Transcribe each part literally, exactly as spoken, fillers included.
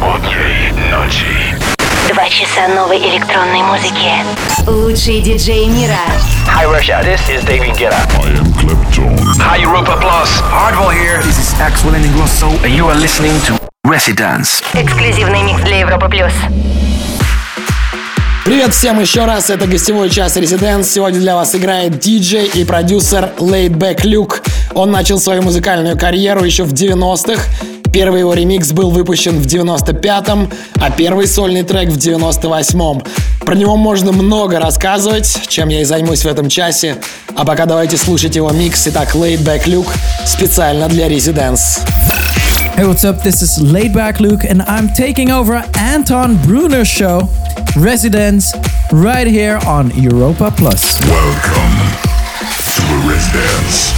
Окей, ночи. Два часа новой электронной музыки. Лучшие диджеи мира. Hi Russia, this is David Guetta. I am Clapton. Hi Europa Plus. Hardwell here. This is Axel Ingrosso, And you are listening to Residence. Эксклюзивный микс для Европы плюс. Привет всем еще раз, это гостевой час Residence. Сегодня для вас играет диджей и продюсер Laidback Luke. Он начал свою музыкальную карьеру еще в девяностых. Первый его ремикс был выпущен в девяносто пятом, а первый сольный трек в девяносто восьмом. Про него можно много рассказывать, чем я и займусь в этом часе. А пока давайте слушать его микс. Итак, Laidback Luke специально для Residence. Hey, what's up? This is Laidback Luke, and I'm taking over Anton Bruner's show, Residence, right here on Europa Plus. Welcome to the Residence.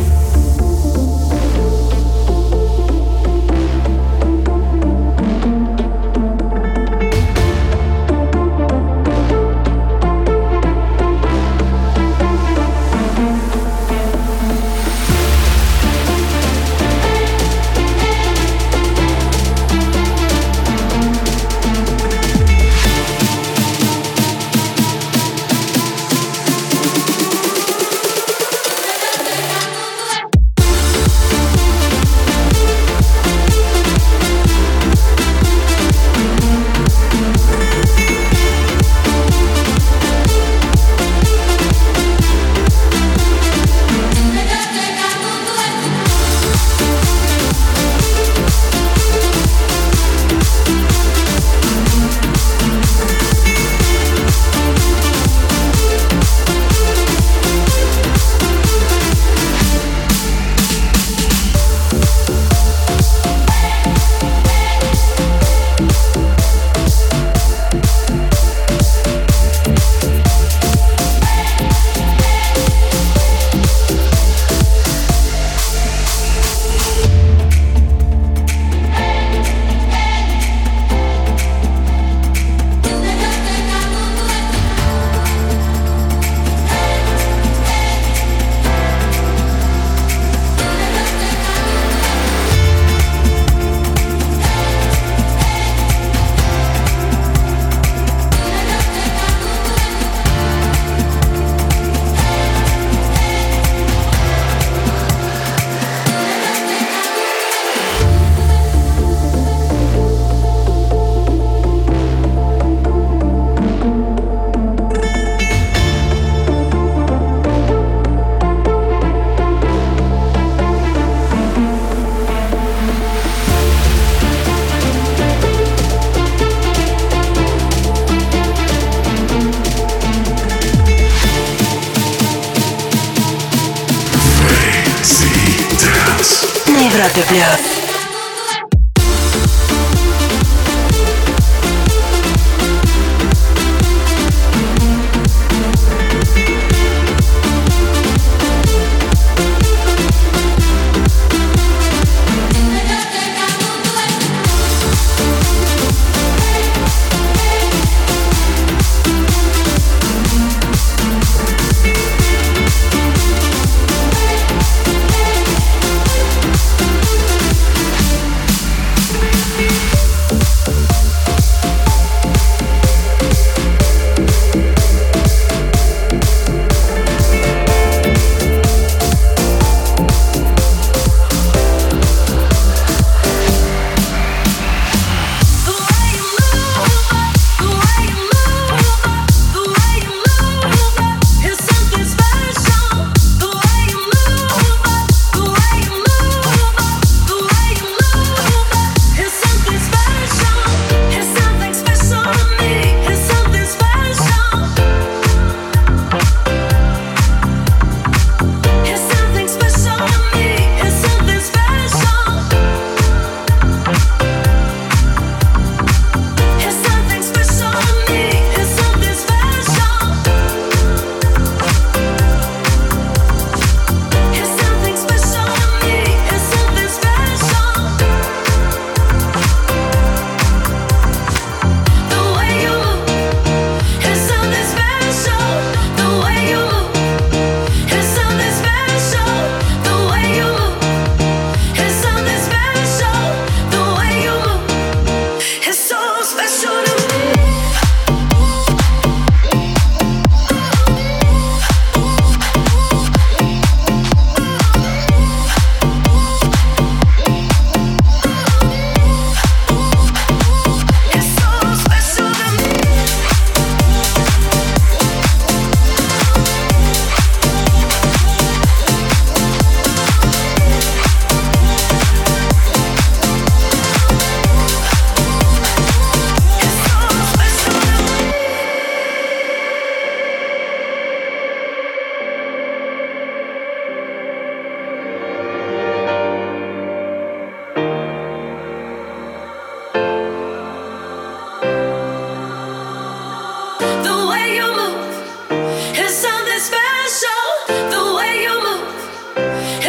Европе плюс.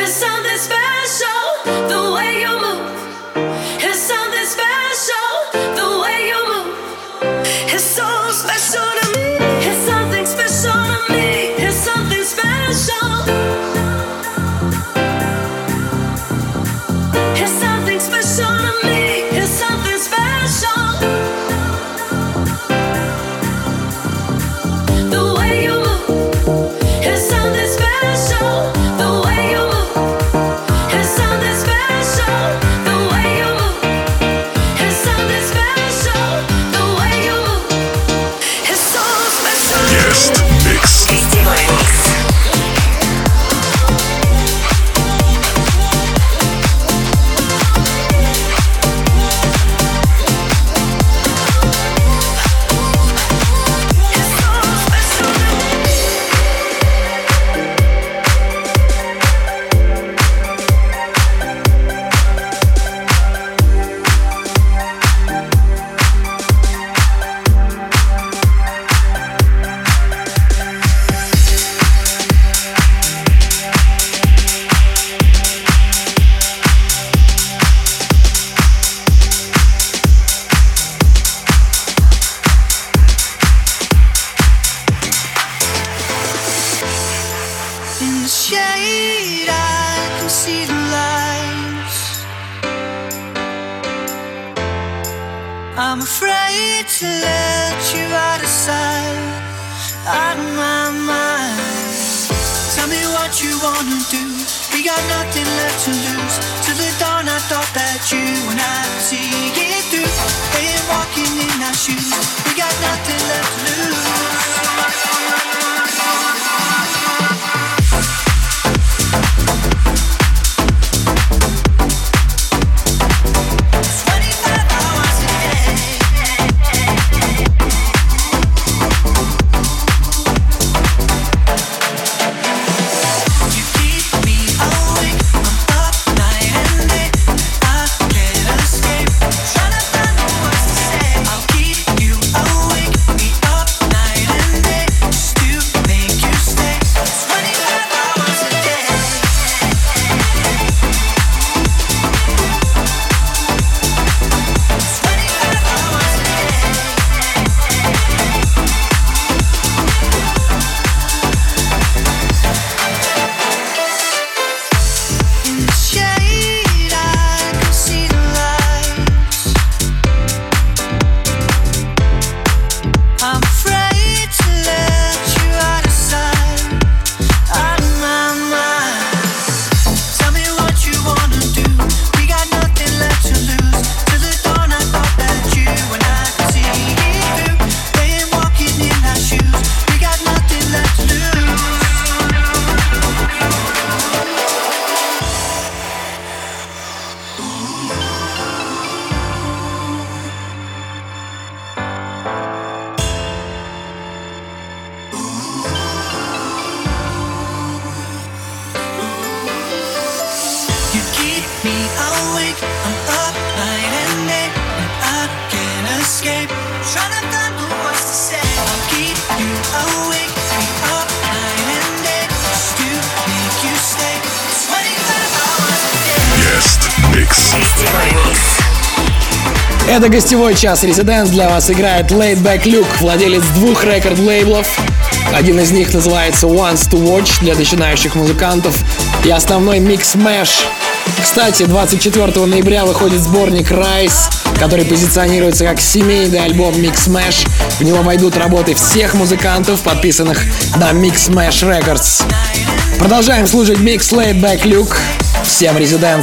I'm afraid to let you out of sight, out of my mind. Tell me what you wanna do. We got nothing left to lose. Till the dawn I thought that you and I could see it through. Ain't walking in our shoes. We got nothing left to lose. Это гостевой час Residence. Для вас играет Laid Back Luke, владелец двух рекорд-лейблов. Один из них называется Wants to Watch для начинающих музыкантов и основной Mix Mash. Кстати, двадцать четвёртого ноября выходит сборник Rise, который позиционируется как семейный альбом Mix Mash. В него войдут работы всех музыкантов, подписанных на Mix Mash Records. Продолжаем слушать микс Laid Back Luke. Всем Residence.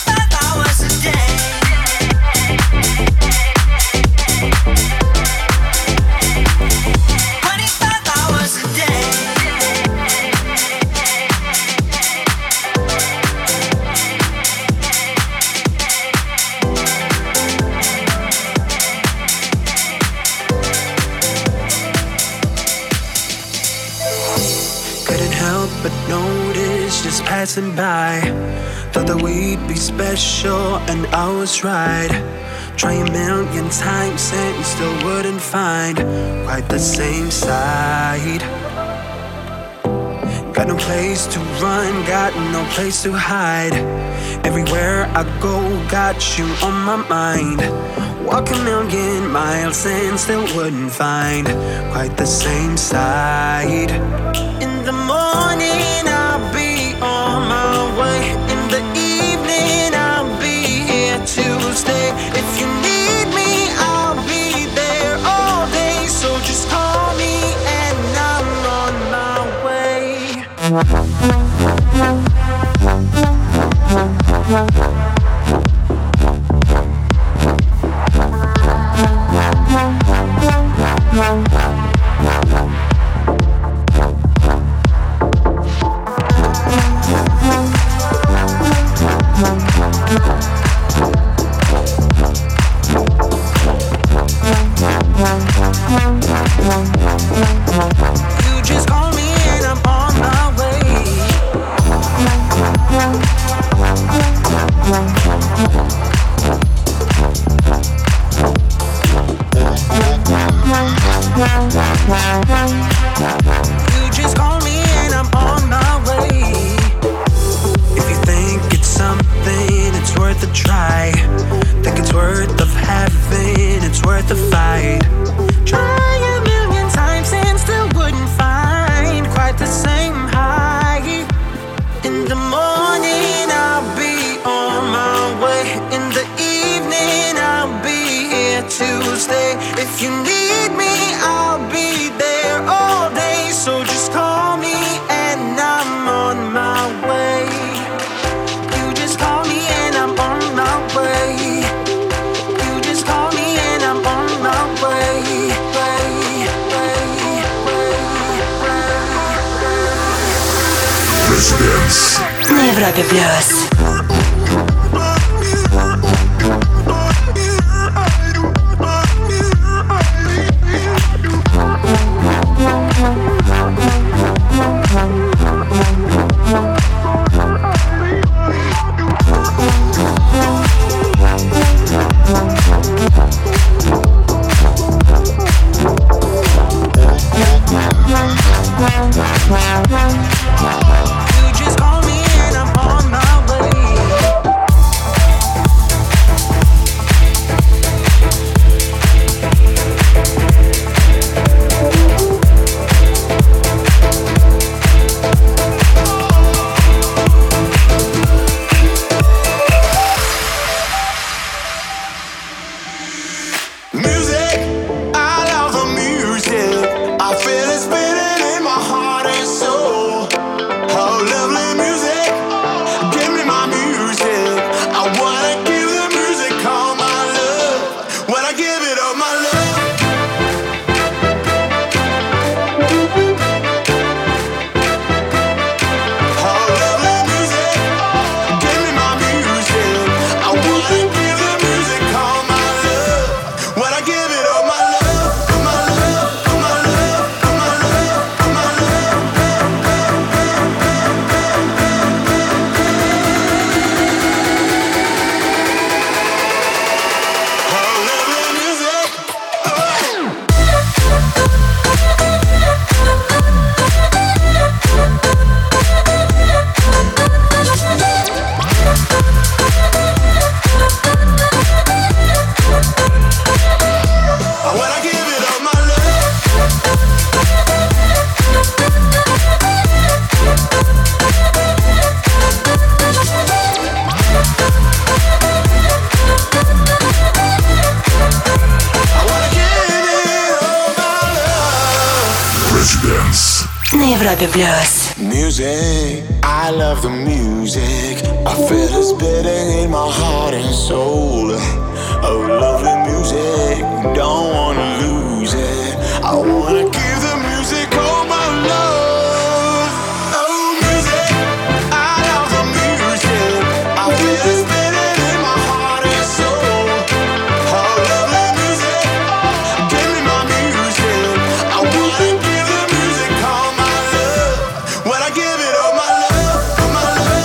Twenty-five hours a day. passing by. Thought that we'd be special, and I was right. Try a million times and still wouldn't find quite the same side. Got no place to run, got no place to hide. Everywhere I go, got you on my mind. Walk a million miles and still wouldn't find quite the same side. In the morning I'll be on my way. In the evening I'll be here to stay. If you need me I'll be there all day. So just call me and I'm on my way. You just call me and I'm on my way. You just call me and I'm on my way. If you think it's something, it's worth a try. Think it's worth of having, it's worth a fight. Try a million times and still wouldn't find quite the same high. In the morning I'll be on my way. In the evening I'll be here to stay. If you need me I'll be there all day. So just call me and I'm on my way. You just call me and I'm on my way. You just call me and I'm on my way. Way, way, way, way. Residence. На Европе плюс. You just call me and I'm on my way. на Европе плюс. Music, I love the music. I feel it's beating in my heart and soul. Oh, lovely music, don't wanna lose it. I wanna give the music all my love. Oh, music, I love the music. I feel it's beating in my heart and soul. Oh, lovely music, give me my music. I wanna give the music all my love. When I give it all my love, all my love.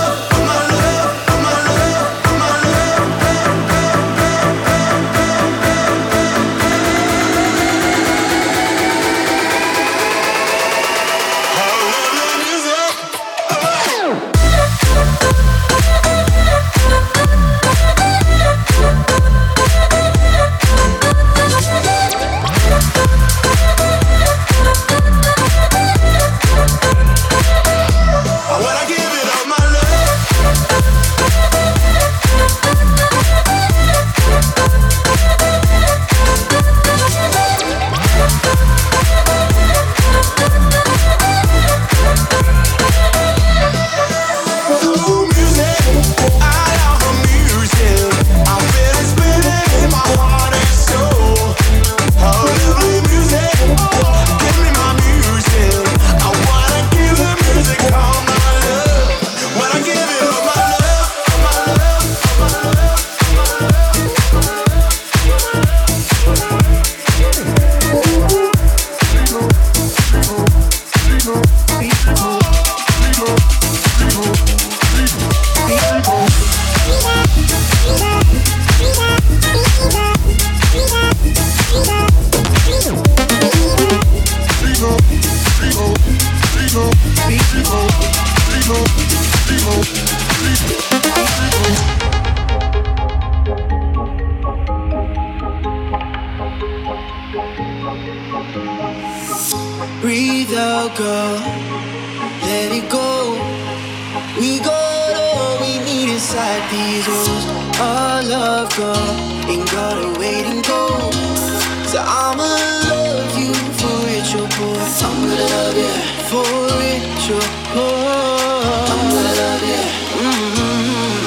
breathe out, girl. Let it go. We got all we need inside these walls. Our love, girl, ain't gotta wait and go. So I'ma love you for rich or poor. I'm gonna love you for rich or poor. I'm gonna love you. Mm-hmm.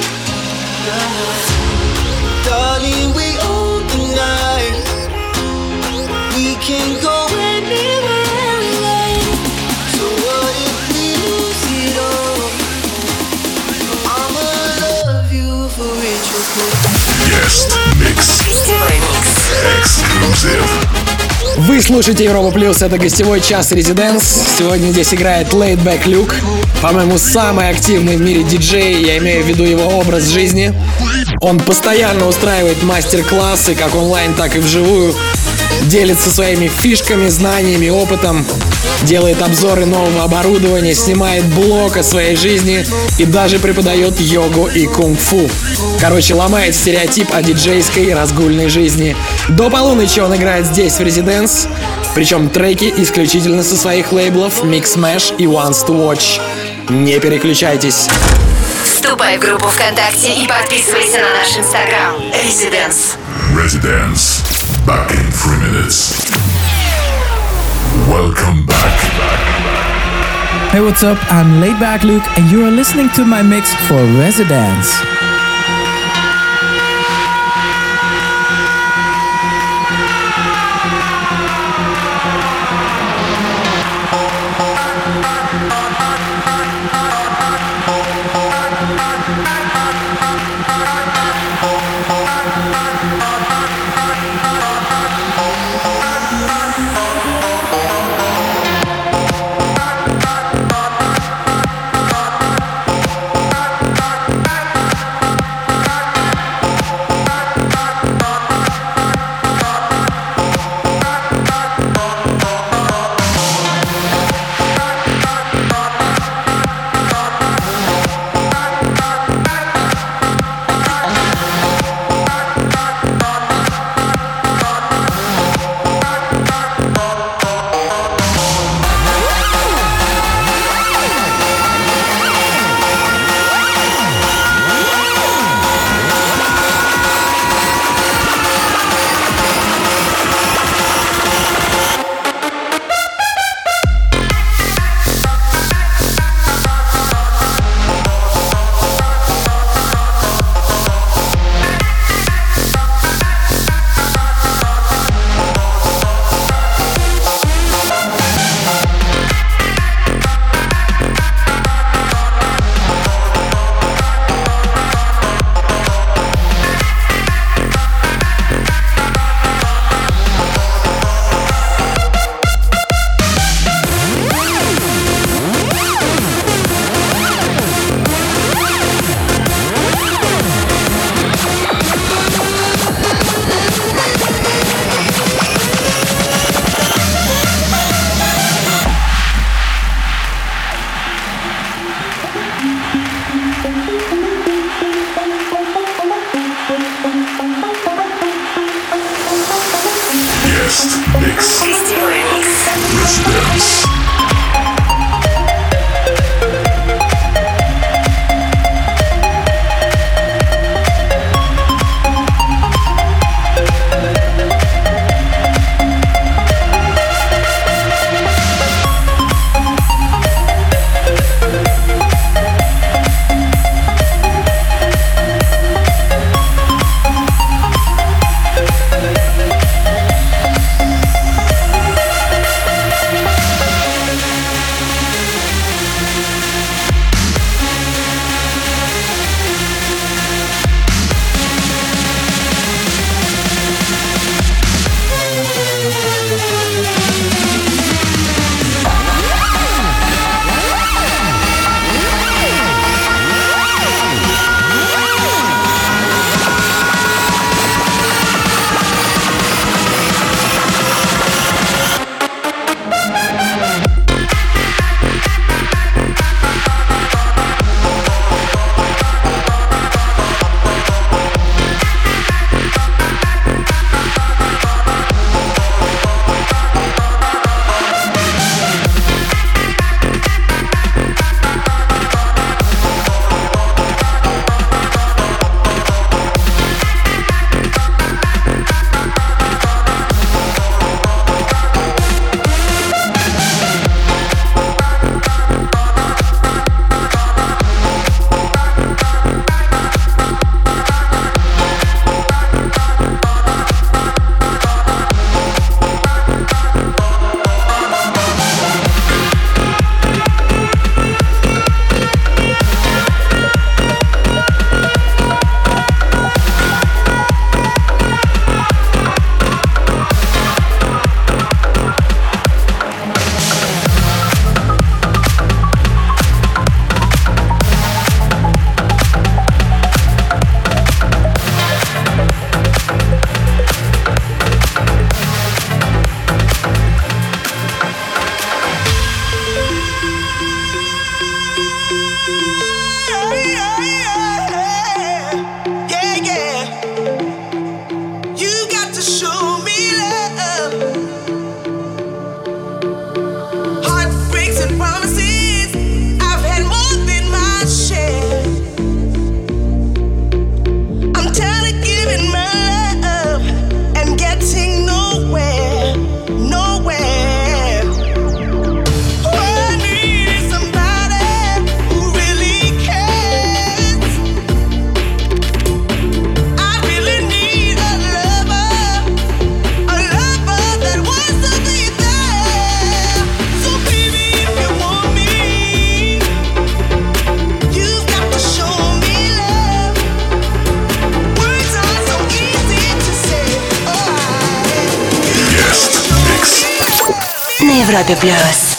Darling, we own the night. We can go anywhere we like. So what if we lose it all? I'ma love you for rich or poor. Guest mix. Exclusive. Вы слушаете Европа Плюс, это гостевой час Residence. Сегодня здесь играет Laid Back Luke. По-моему, самый активный в мире диджей, я имею в виду его образ жизни. Он постоянно устраивает мастер-классы, как онлайн, так и вживую. Делится своими фишками, знаниями, опытом. Делает обзоры нового оборудования, снимает блог о своей жизни и даже преподает йогу и кунг-фу. Короче, ломает стереотип о диджейской разгульной жизни. До полуночи он играет здесь, в Residence. Причем треки исключительно со своих лейблов Mix Mash и Ones to Watch. Не переключайтесь. Вступай в группу ВКонтакте и подписывайся на наш инстаграм. Residence. Residence. Back in three minutes. Welcome back. Hey, what's up? I'm Laid Back Luke, and you are listening to my mix for Residence. на Европе плюс.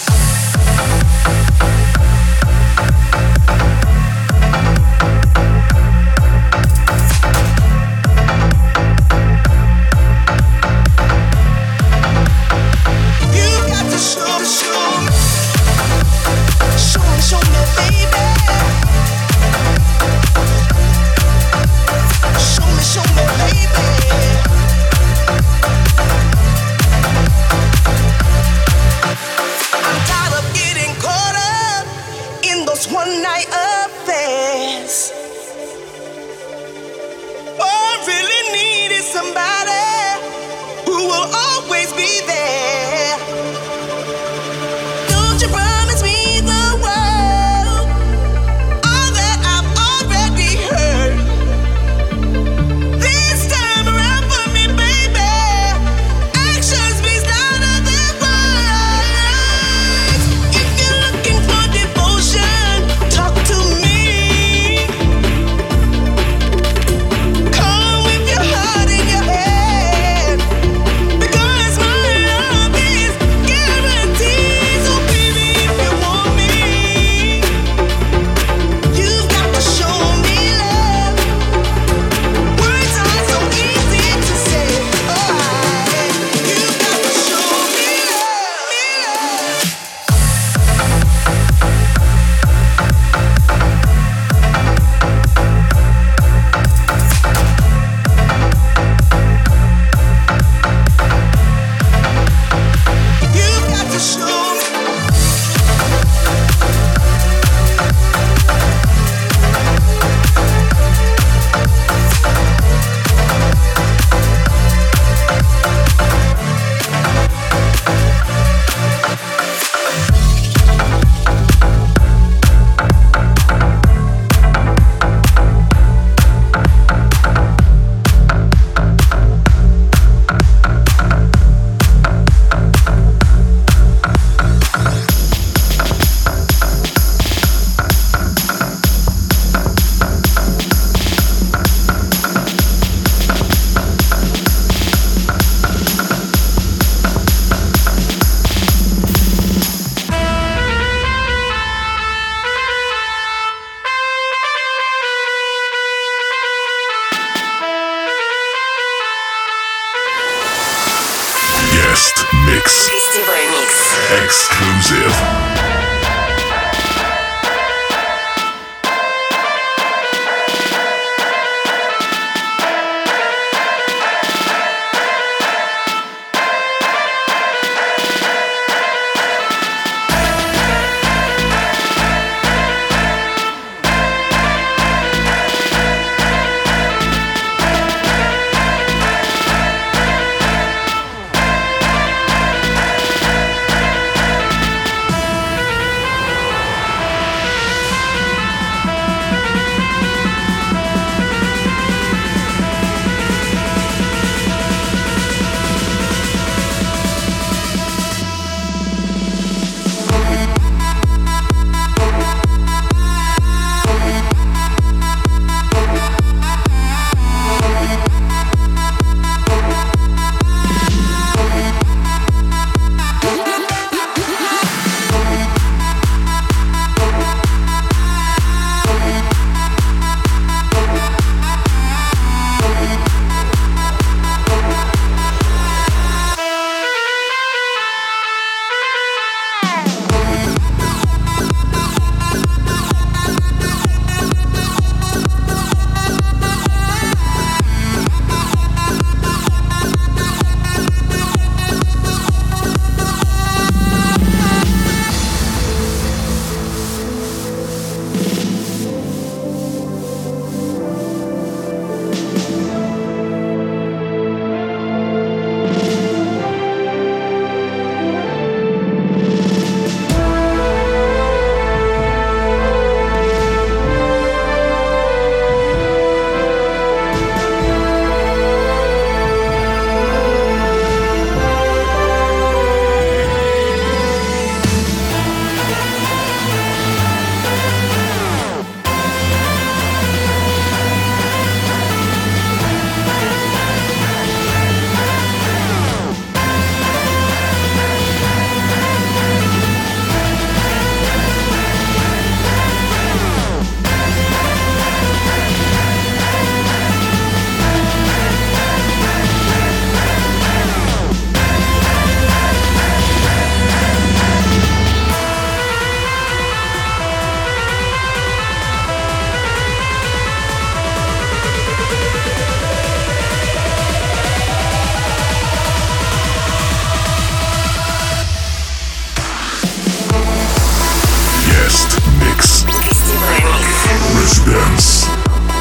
Mix. Гостевой микс. Exclusive.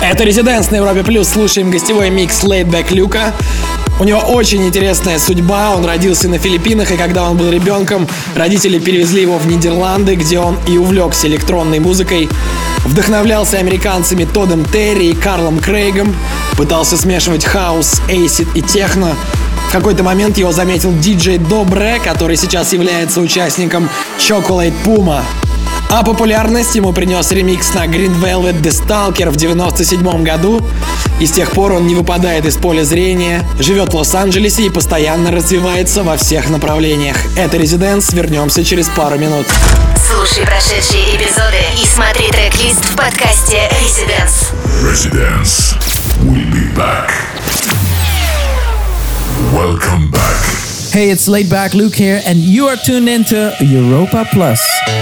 Это «Резиденс» на Европе Плюс. Слушаем гостевой микс Laid Back Люка. У него очень интересная судьба. Он родился на Филиппинах, и когда он был ребенком, родители перевезли его в Нидерланды, где он и увлекся электронной музыкой. Вдохновлялся американцами Тоддом Терри и Карлом Крейгом. Пытался смешивать хаус, эйсид и техно. В какой-то момент его заметил диджей Добре, который сейчас является участником Chocolate Puma. А популярность ему принес ремикс на Green Velvet The Stalker в девяносто седьмом году. И с тех пор он не выпадает из поля зрения, живет в Лос-Анджелесе и постоянно развивается во всех направлениях. Это «Резиденс». Вернемся через пару минут. Слушай прошедшие эпизоды и смотри трек-лист в подкасте «Резиденс». Residence. We'll be back. Welcome back. Hey, it's Laid Back Luke here, and you are tuned into Europa Plus.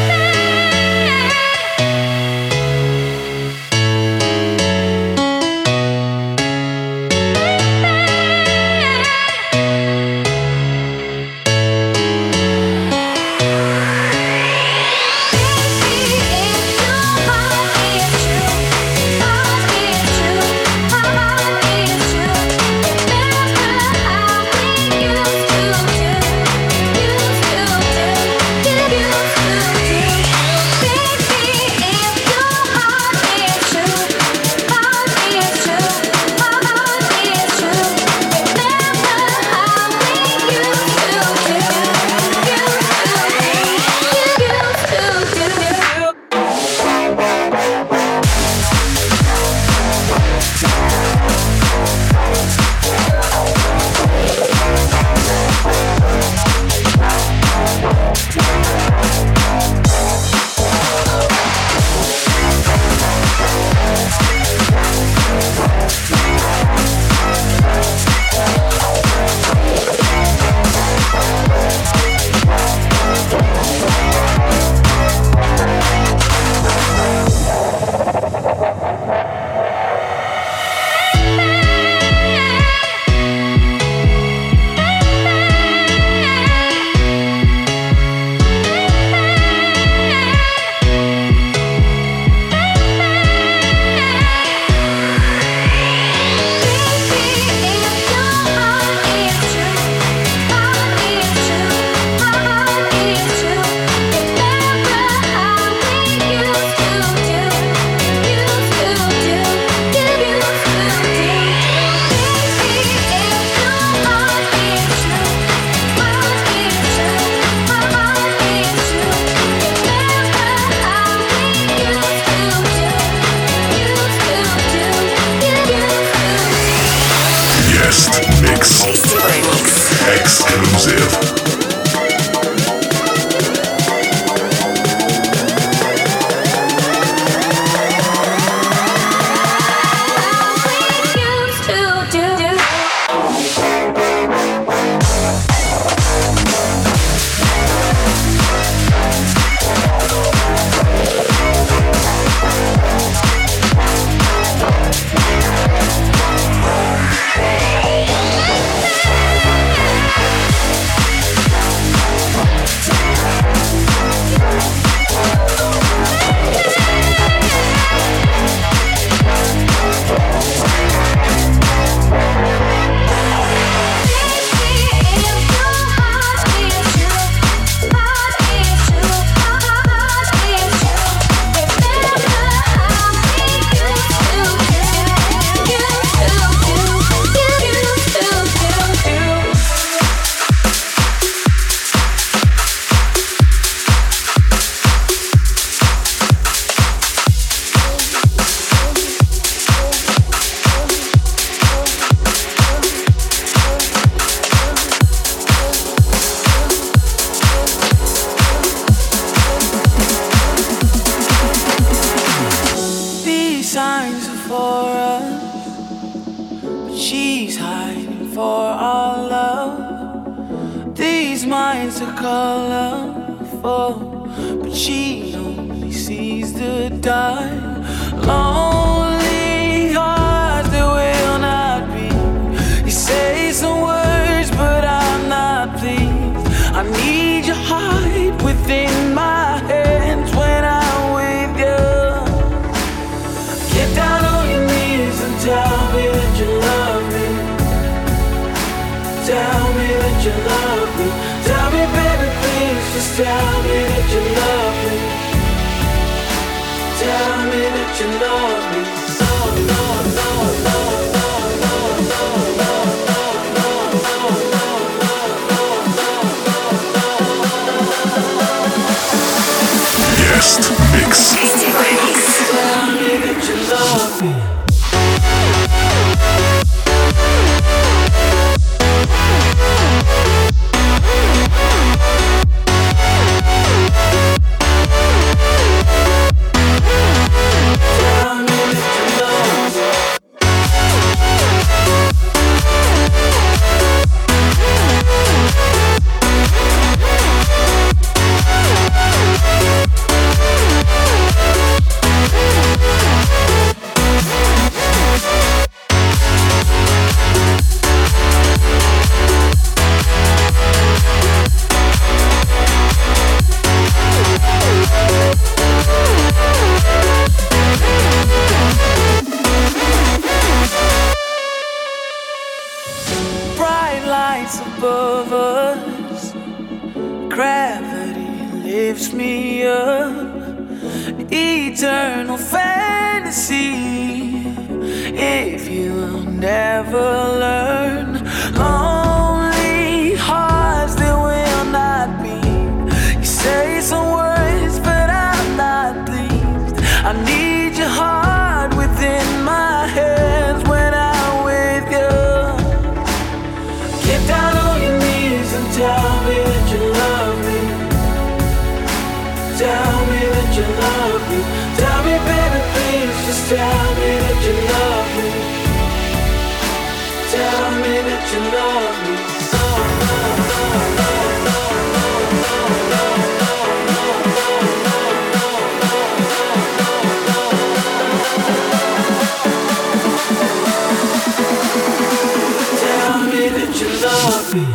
Exclusive. Get down on your knees. that you love me. Tell me, baby, please, just tell me that you love me. Tell me that you love me. No, no, no, no, no, no, no, no, no, no, no. Guest mix. Гостевой микс. Tell me that you love me. Above us, gravity lifts me up. Eternal fantasy. If you'll never learn, only hearts that will not beat. You say some words, but I'm not pleased. I need your heart within my hands when I'm with you. Get down on your knees and tell me that you love me. Tell me that you love me. Tell me, baby, please, just tell me that you love me. Tell me that you love me. Oh, oh, oh, oh. Love me.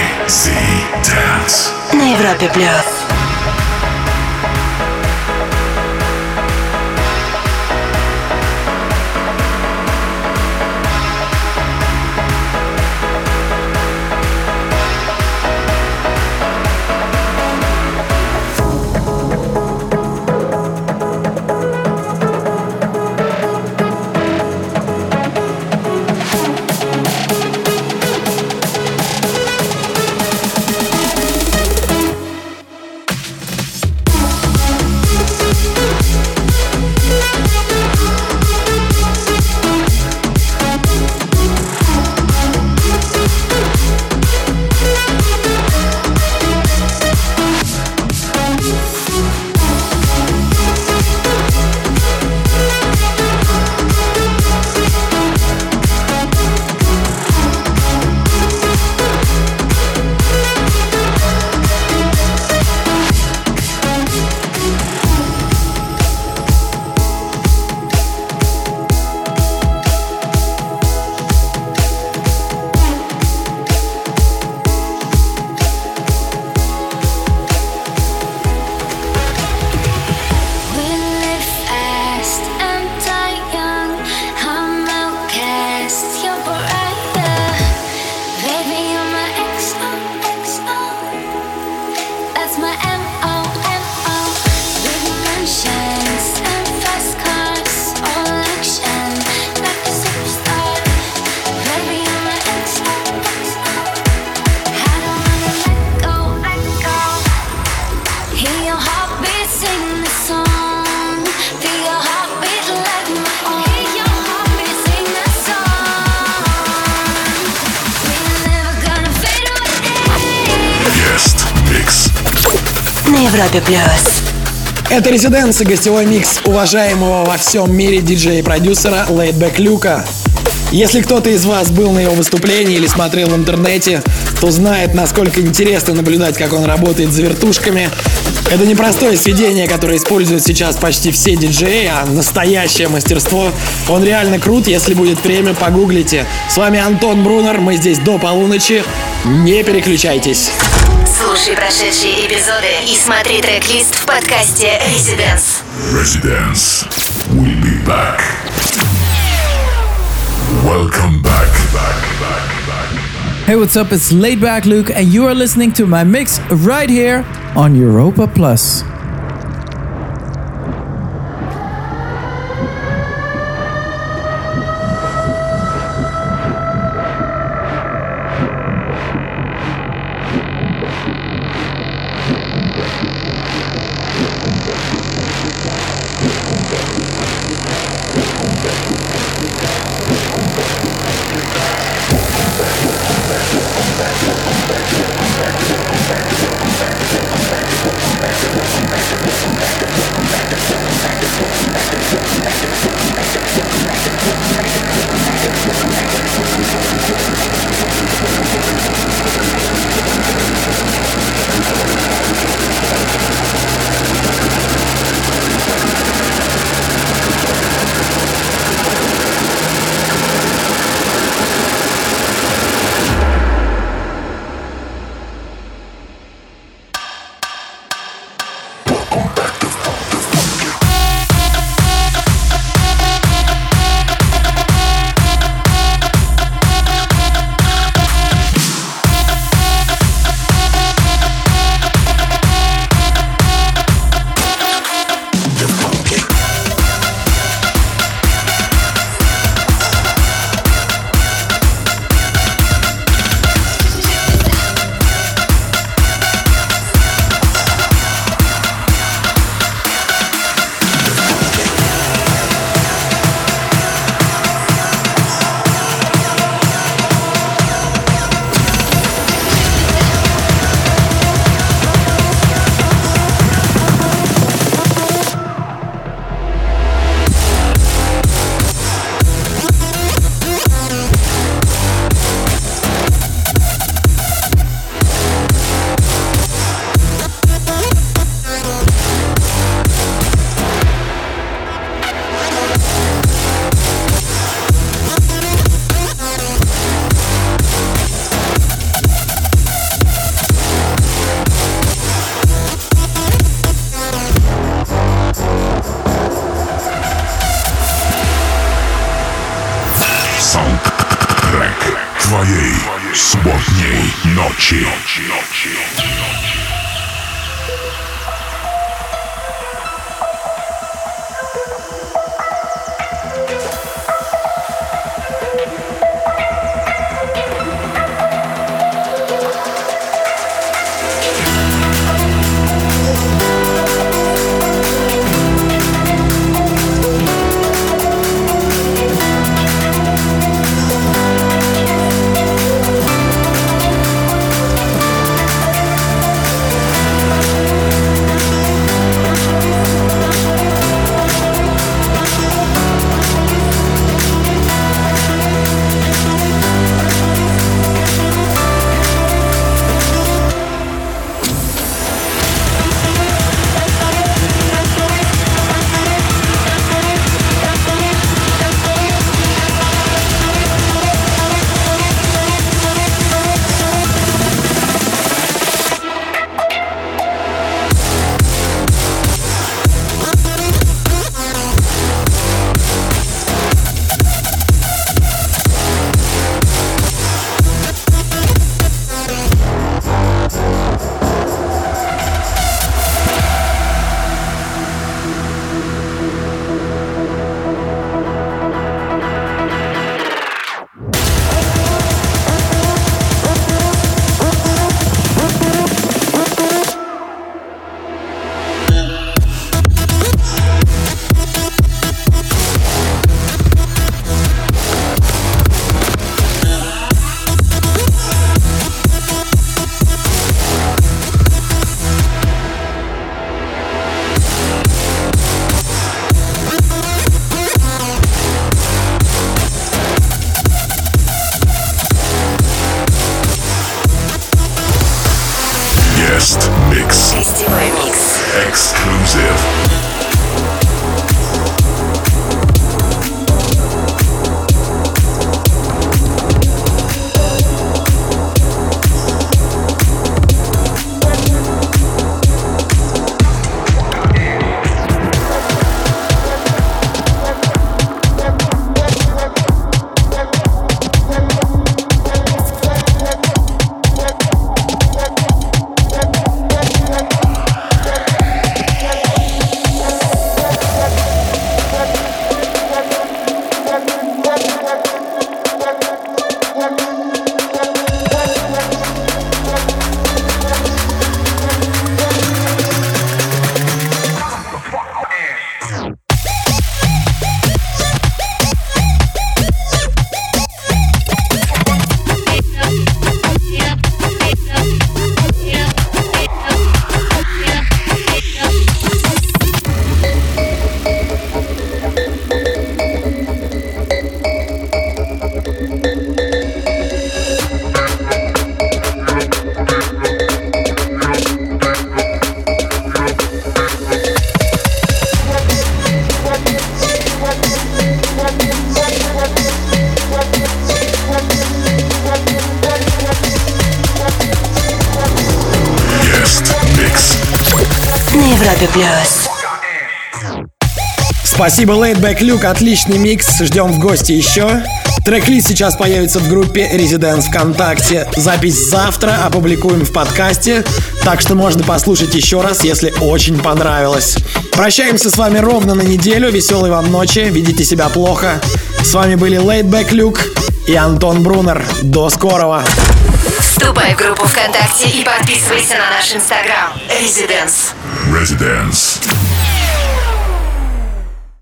На Европе плюс. Европе плюс. Это Residence и гостевой микс уважаемого во всем мире диджея и продюсера Laidback Luke. Если кто-то из вас был на его выступлении или смотрел в интернете, то знает, насколько интересно наблюдать, как он работает с вертушками. Это не простое сведение, которое используют сейчас почти все диджеи, а настоящее мастерство. Он реально крут, если будет время, погуглите. С вами Антон Брунер, мы здесь до полуночи. Не переключайтесь. Слушай прошедшие эпизоды и смотри трек-лист в подкасте Residence. Residence. We'll be back. Welcome back. Back, back, back. Hey, what's up? It's Laidback Luke, and you are listening to my mix right here on Europa Plus. Твоей субботней ночи. Exclusive. Спасибо, Laidback Luke, отличный микс, ждем в гости еще. Трек-лист сейчас появится в группе Residence ВКонтакте. Запись завтра опубликуем в подкасте, так что можно послушать еще раз, если очень понравилось. Прощаемся с вами ровно на неделю, веселой вам ночи, ведите себя плохо. С вами были Laidback Luke и Антон Брунер. До скорого! Вступай в группу ВКонтакте и подписывайся на наш инстаграм Residence. Residence.